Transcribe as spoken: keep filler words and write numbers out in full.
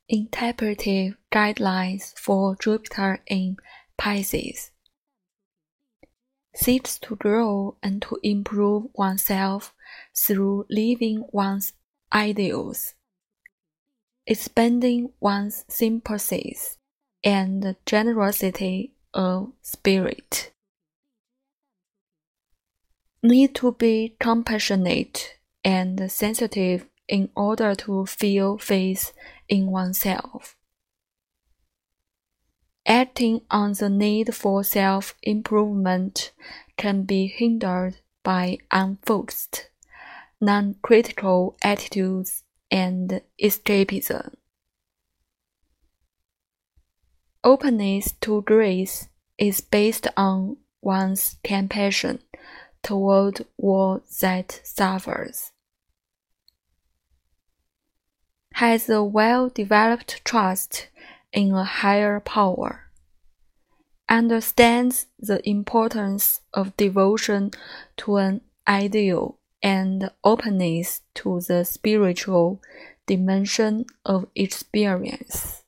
Interpretive guidelines for Jupiter in Pisces. Seeks to grow and to improve oneself through living one's ideals, expanding one's sympathies and generosity of spirit. Need to be compassionate and sensitive in order to feel faith in oneself. Acting on the need for self-improvement can be hindered by unfocused, non-critical attitudes and escapism. Openness to grace is based on one's compassion toward all that suffers. Has a well-developed trust in a higher power. Understands the importance of devotion to an ideal and openness to the spiritual dimension of experience.